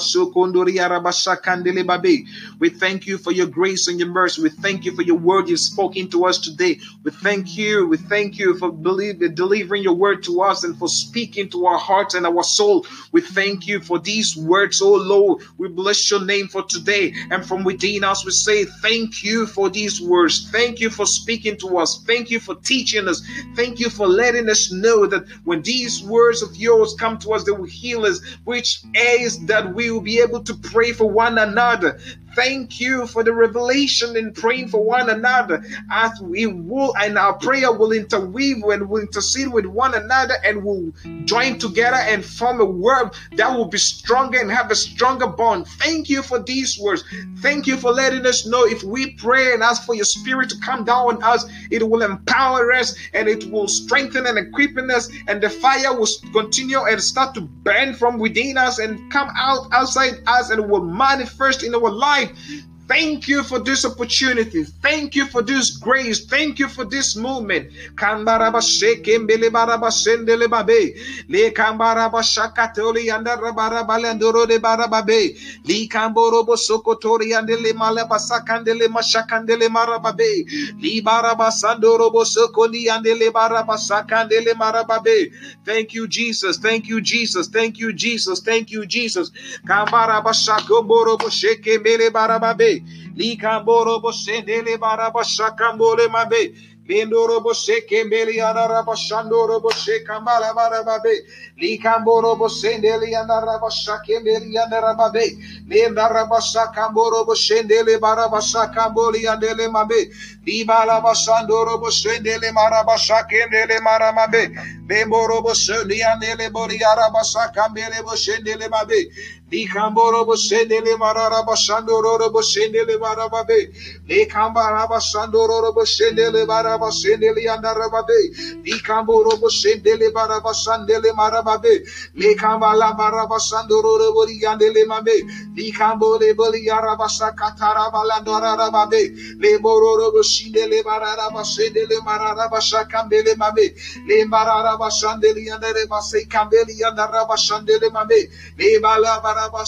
thank you for your grace and your mercy. We thank you for your word you've spoken to us today. We thank you. We thank you for delivering your word to us and for speaking to our hearts and our soul. We thank you for these words, oh Lord. We bless your name for today. And from within us, we say thank you for these words. Thank you for speaking to us. Thank you for teaching us. Thank you for letting us know that when these words of yours come to us, they will heal us, which is that we will be able to pray for one another. Thank you for the revelation in praying for one another, as we will, and our prayer will interweave and will intercede with one another, and will join together and form a word that will be stronger and have a stronger bond. Thank you for these words. Thank you for letting us know if we pray and ask for your spirit to come down on us, it will empower us and it will strengthen and equip us, and the fire will continue and start to burn from within us and come out outside us, and it will manifest in our life. Thank you for this opportunity. Thank you for this grace. Thank you for this movement. Thank you, Jesus. Thank you, Jesus. Thank you, Jesus. Thank you, Jesus. Likamboro bosendele barabashakambole mabe. Lindoro boseke meli anarabashandoro boseka malabarababe. Likamboro bosendele anarabashake meli anarababe. Lindarabashakamboro bosendele barabashakamboli andele mabe. Libalabashandoro bosendele marabashake mele maramabe. Bemboro bosendele andele bori arabashakambele bosendele mabe. Likamboro bosendele marabashandoro bosendele marababe. Likambarabashandoro bosendele barabasendele andarababe. Likamboro bosendele barabashandele marababe. Likambala barabashandoro bori andele mabe. Likambole boli arabashakatara balandarababe. Leboro bosendele barabasendele marabashakambele mabe. Lembarabashandele andarabase kambele andarabashandele mabe. Lebala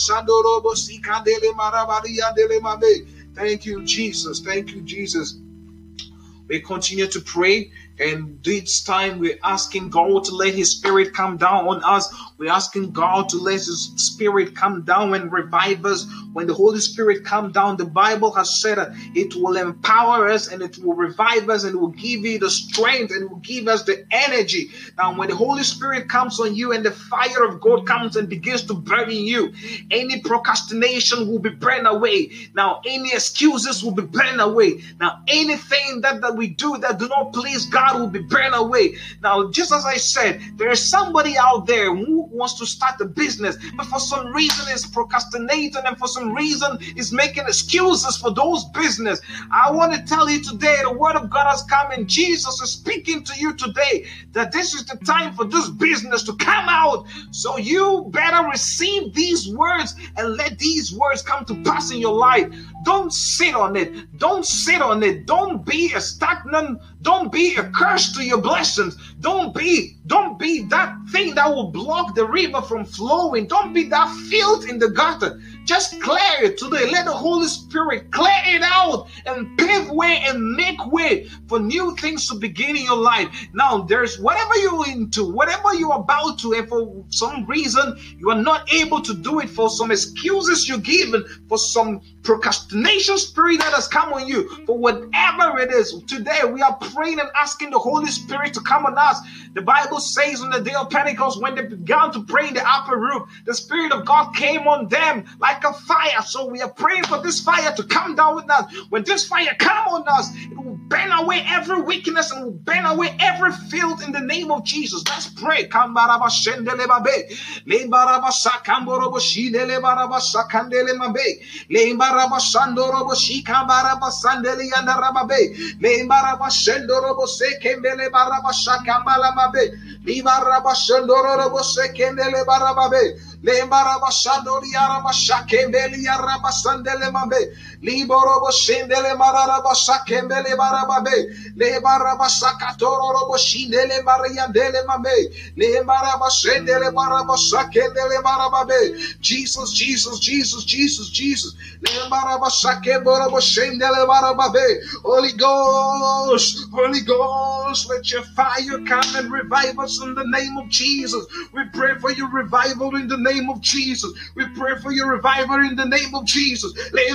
Thank you, Jesus. Thank you, Jesus. We continue to pray, and this time we're asking God to let His Spirit come down on us. We're asking God to let His Spirit come down and revive us. When the Holy Spirit comes down, the Bible has said that it will empower us and it will revive us and it will give you the strength and it will give us the energy. Now, when the Holy Spirit comes on you and the fire of God comes and begins to burn in you, any procrastination will be burned away. Now, any excuses will be burned away. Now, anything that we do that do not please God will be burned away. Now, just as I said, there is somebody out there who wants to start a business, but for some reason is procrastinating, and for some reason is making excuses for those business. I want to tell you today, the word of God has come, and Jesus is speaking to you today that this is the time for this business to come out. So you better receive these words and let these words come to pass in your life. Don't sit on it. Don't sit on it. Don't be a stagnant. Don't be a curse to your blessings. Don't be that thing that will block the river from flowing. Don't be that filth in the gutter. Just clear it today. Let the Holy Spirit clear it out and pave way and make way for new things to begin in your life. Now, there's whatever you're into, whatever you're about to, and for some reason you are not able to do it, for some excuses you're given, for some procrastination spirit that has come on you, for whatever it is. Today we are praying and asking the Holy Spirit to come on us. The Bible says on the day of Pentecost, when they began to pray in the upper room, the Spirit of God came on them like a fire. So we are praying for this fire to come down with us. When this fire come on us, it will burn away every weakness and will burn away every filth in the name of Jesus. Let's pray. Rabashandorobo Shikambara Sandeli and Rababe, Lembara Shendorobo Sekembele Barabashakambala Mabe, Liba Rabashandorobo Sekendele Barababe, Lembara Bashandori Arabashakembeli Arabasandele Mabe, Liborobo Shendele Marabashakembele Barababe, Lebarabasakatorobo Shindele Mariandele Mabe, Lembara Bashendele Barabashakendele Barababe, Jesus, Jesus, Jesus, Jesus, Jesus. Holy Ghost, Holy Ghost, let your fire come and revive us in the name of Jesus. We pray for your revival in the name of Jesus. We pray for your revival in the name of Jesus.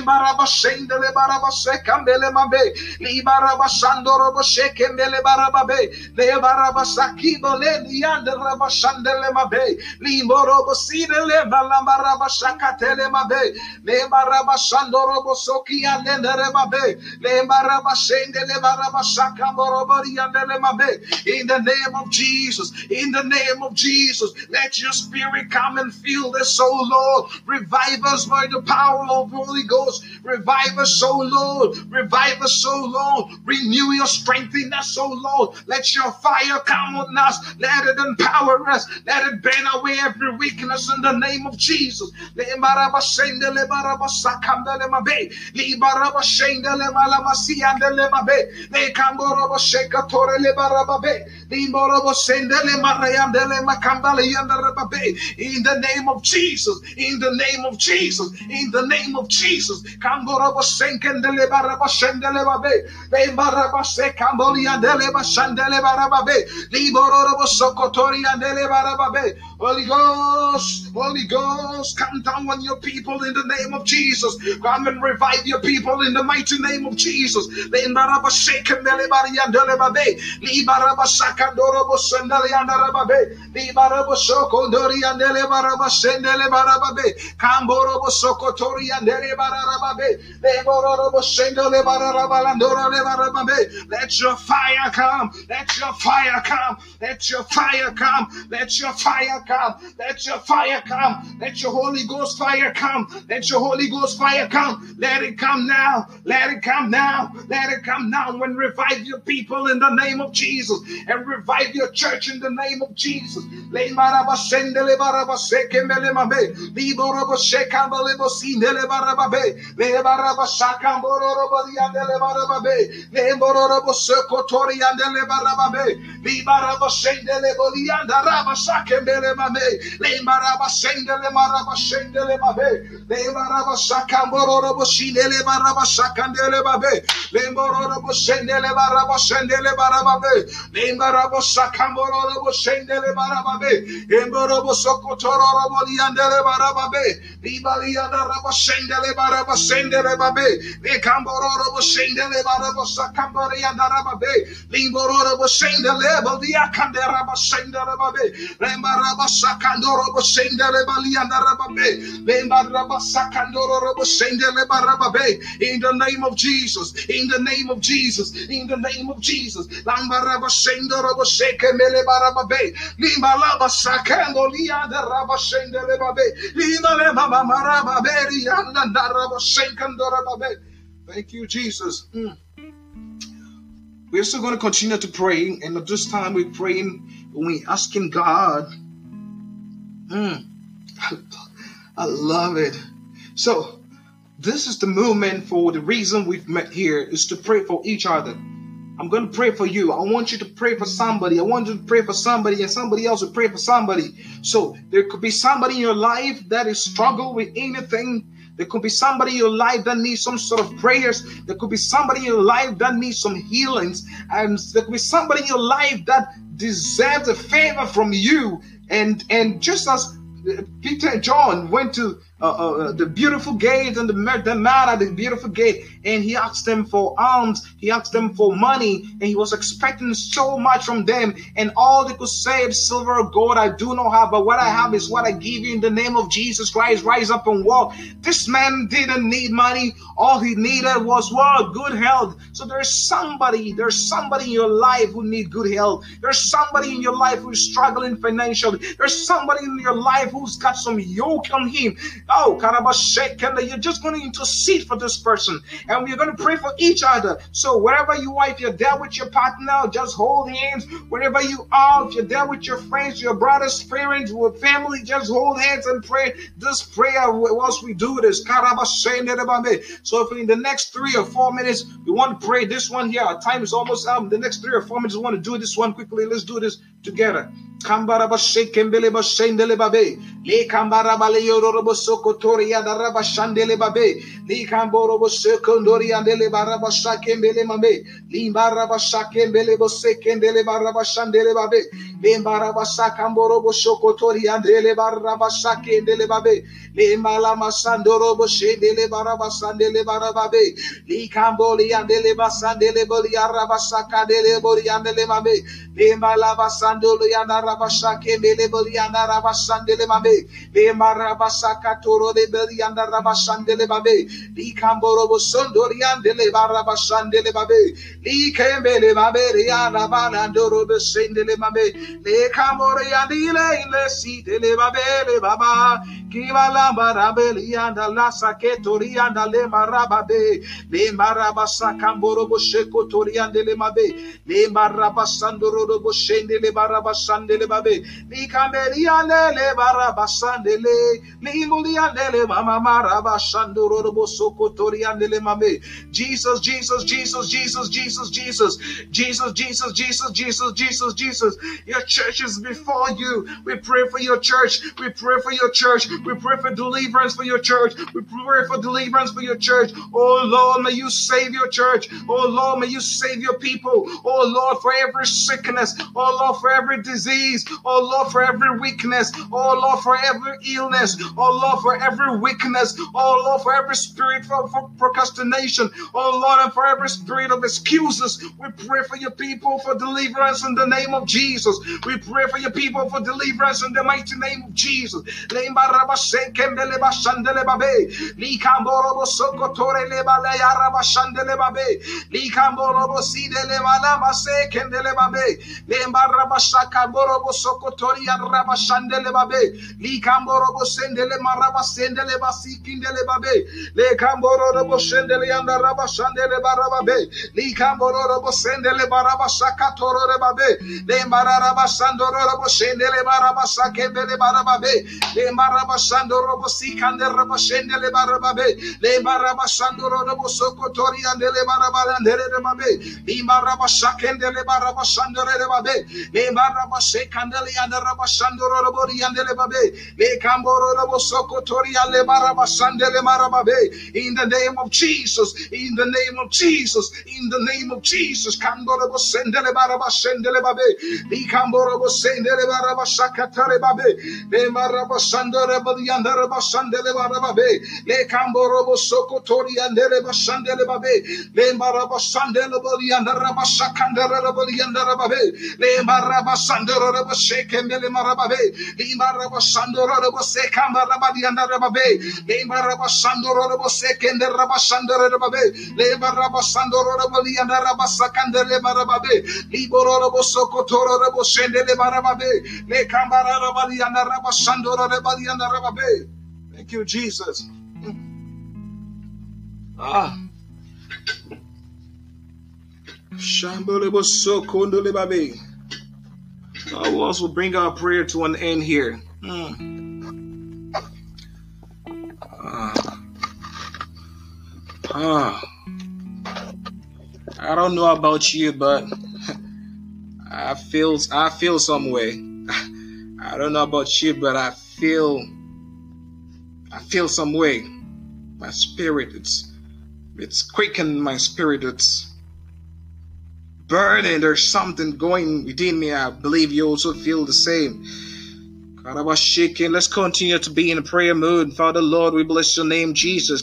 Shandorobo Soki and Rebabe, Lembaraba Shende Lebaraba Shakamborobori and Lemabe. In the name of Jesus, in the name of Jesus, let your spirit come and fill this soul, Lord. Revive us by the power of the Holy Ghost. Revive us, so Lord. Revive us, so Lord. Renew your strength in us, so Lord. Let your fire come on us. Let it empower us. Let it burn away every weakness in the name of Jesus. Lembaraba Shende Lebaraba Sakandele Mabe, Libaraba Shendele Malamasi and the Lemabe, Le Camborobo Shekatore Lebarababe, Limborobo Sendele Mariandele Macambali and the Rababe, in the name of Jesus, in the name of Jesus, in the name of Jesus, Camborobo Senkendele Baraba Shendele Babe, Le Baraba Sekamboli and Deleba Shandele Barababe, Liborobo Sokotori and Dele Barababe. Holy Ghost, Holy Ghost, come down on your people in the name of Jesus. Come and revive your people in the mighty name of Jesus. Lembaraba Shekendele Bariandele Babe, Libaraba Sakandorobo Sendele and Rababe, Libarabo Sokondori and Dele Baraba Sendele Barababe, Camborobo Sokotori and Dele Barababe, Leborobo Sendele Barabalandora Barababe. Let your fire come, let your fire come, let your fire come, let your fire come, let your fire come, let your Holy Ghost fire come, let your Holy Ghost fire come, let it come now, let it come now, let it come now, and revive your people in the name of Jesus, and revive your church in the name of Jesus. Le maraba sendele baraba sekembele mabe, liborabo shekambele sindele barababe, le baraba shakamboro bodiandele barababe, le bororo sokotori andele barababe, libaraba sendele bodianda raba shakembele mabe, le maraba sendele maraba sendele mabe, le maraba shakamboro boshindele baraba shakandele babe, le bororo boshendele baraba sendele barababe, le maraba shakamboro boshendele barababe, emboro sokotoro bodiandele barababe, libalianda raba sendele baraba sendele babe, le kamboro boshendele baraba sakambori andarababe, limboro boshendele bodia kandera basendele babe, lembaraba sakandoro boshendele balianda rababe, lembaraba sakandoro boshendele barababe. In the name of Jesus, in the name of Jesus, in the name of Jesus, lambaraba sendoro bosekemele barababe, limbalaba sakando lianda raba sendele babe, limbale mama marababe lianda raba senkandora babe. Thank you, Jesus. We're still going to continue to pray, and at this time we're praying when we're asking God. I love it. So this is the movement. For the reason we've met here is to pray for each other. I'm going to pray for you. I want you to pray for somebody. I want you to pray for somebody, and somebody else will pray for somebody. So there could be somebody in your life that is struggling with anything, There could be somebody in your life that needs some sort of prayers. There could be somebody in your life that needs some healings. And there could be somebody in your life that deserves a favor from you. And just as Peter and John went to the beautiful gate and the man at the beautiful gate, and he asked them for alms, he asked them for money, and he was expecting so much from them, and all they could say is, silver or gold I do not have, but what I have is what I give you in the name of Jesus Christ. Rise up and walk. This man didn't need money. All he needed was what? Good health. So there's somebody in your life who needs good health. There's somebody in your life who's struggling financially. There's somebody in your life who's got some yoke on him. Oh, Karabashekanda, you're just going to intercede for this person, and we're going to pray for each other. So wherever you are, if you're there with your partner, just hold hands. Wherever you are, if you're there with your friends, your brothers, parents, with family, just hold hands and pray this prayer whilst we do this. So if in the next 3 or 4 minutes we want to pray this one here, our time is almost up. The next 3 or 4 minutes we want to do this one quickly. Let's do this together. Kambara shekembele bashendele babe le kambara bale yororo sokotori adaraba shandele babe le kamboro sekondori andele baraba shakembele mabe le baraba shakembele bosekendele baraba shandele babe le baraba sakamboro sokotori andele baraba shakendele babe le malama sandoro boshendele baraba sandele baraba be le kamboli andele basandele boli araba sakadele boli andele mabe le malaba sandolo yandara Rabashake Belebeliana Rabashandele Mabe, Le Marabasaka Toro de Belianda Rabashandele Babe, Li Camboro Sondorian de Barabashandele Babe, Li Kembele Mabe, Riana Banandoro de Sendele Mabe, Le Camboriandile in the seat de Babele Baba, Kivala Marabelianda Lasa Ketorianda Le Marababe, Le Marabasakamboro Bosheko Toriandele Mabe, Le Marabasandoro Boshendele Barabashandele babe li kameliane le barabasandele li muliane le mama marabashandoro bosokotoriane le mame. Jesus, Jesus, Jesus, Jesus, Jesus, Jesus, Jesus, Jesus, Jesus, Jesus, Jesus, Jesus. Your church is before you. We pray for your church. We pray for your church. We pray for deliverance for your church. We pray for deliverance for your church. Oh Lord, may you save your church. Oh Lord, may you save your people. Oh Lord, for every sickness. Oh Lord, for every disease. Oh Lord, for every weakness. Oh Lord, for every illness. Oh Lord, for every weakness. Oh Lord, for every spirit for procrastination. Oh Lord, and for every spirit of excuses. We pray for your people for deliverance in the name of Jesus. We pray for your people for deliverance in the mighty name of Jesus. Sokotoria Rabashandele Babe, Li Camboro Sendele Marabasendele Basikindele Babe, Le Camboro Boshendele and Rabashandele Barababe, Li Camboro Bosendele Barabasakatoro Babe, Le Marabasandoro Boshendele Barabasakebele Barababe, Le Marabasandoro Bosikande Rabashendele Barababe, Le Marabasandoro Bosokotoria and Le Barabalandele Babe, Li Marabasakendele Barabasandore Babe, Le Marabasek Candeli and the Rabashandoro Bori and the Lebabe, Le Camboro Sokotoria Le Barabasandele Marababe, in the name of Jesus, in the name of Jesus, in the name of Jesus, Camboro Sendele Barabashendele Babe, Le Camboro Sendele Barabasakatare Babe, Le Marabasandore Bori and the Rabasandele Barababe, Le Camboro Sokotoria and the Rabashandele Babe, Le Marabasandele Bori and the Rabasakandere Bori and the Rababe, Le Marabasandoro Shekembele Marababe, Limaraba Sandoro Sekamba Rabadiana Rababe, Limaraba Sandoro Sekende Rabasandoro Rababe, Lemaraba Sandoro Rabadiana Rabasakandele Marababe, Liboro Sokotoro Raboshendele Marababe, Le Kambara Rabadiana Rabasandoro Rabadiana Rababe. Thank you, Jesus. Shambole Sokondole Babe. We'll also bring our prayer to an end here. I don't know about you, but I feel some way. I don't know about you, but I feel some way. My spirit, it's quickened my spirit. It's burning. There's something going within me. I believe you also feel the same. Let's continue to be in a prayer mood. Father Lord, we bless your name, Jesus.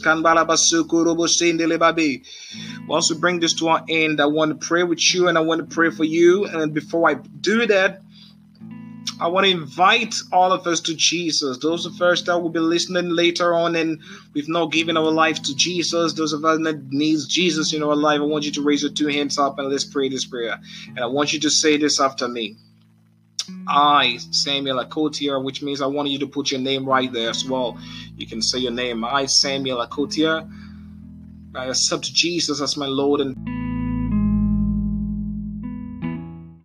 Once we bring this to our end, I want to pray with you and I want to pray for you. And before I do that, I want to invite all of us to Jesus. Those of us that will be listening later on and we've not given our life to Jesus, those of us that needs Jesus in our life, I want you to raise your two hands up and let's pray this prayer. And I want you to say this after me. I, Samuel Akotia, which means I want you to put your name right there as well. You can say your name. I, Samuel Akotia, I accept Jesus as my Lord and